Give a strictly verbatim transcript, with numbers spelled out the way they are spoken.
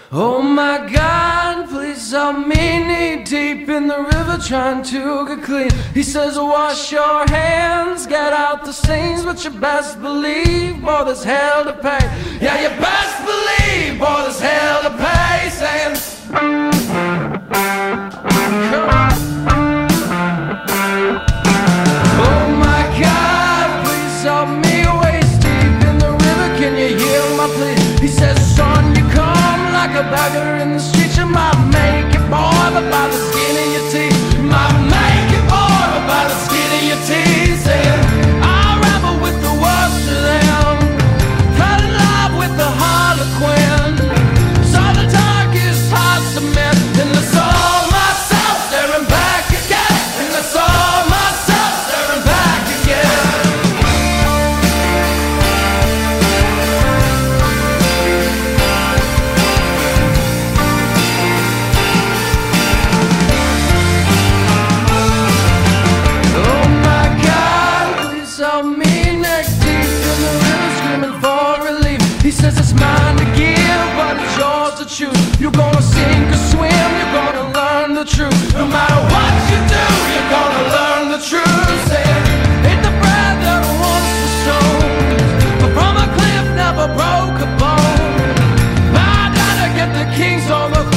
Oh my God, please help me knee deep in the river trying to get clean. He says wash your hands, get out the stains, but you best believe, boy, there's hell to pay. Yeah, you best believe, boy, there's hell to pay. Saying come on. Oh my God, please help me waist deep in the river, can you hear my plea? He says son, you come like a beggar in the street. You might make it, boy, but by the skin of your teeth. You might make it, boy, but by the skin of your teeth. Saying I ramble with the worst of them, fell in love with the Harlequin, saw the darkest hearts of men, and I saw myself staring back again, and I saw myself staring back again. Oh my God, please help me neck deep in the river screaming for relief. He says it's mine to give, but it's yours to choose. You're gonna sink or swim, you're gonna learn the truth. No matter what you do, you're gonna learn the truth. Saying, hit the bread that once was stone, but from a cliff never broke a bone. I gotta get the kings on the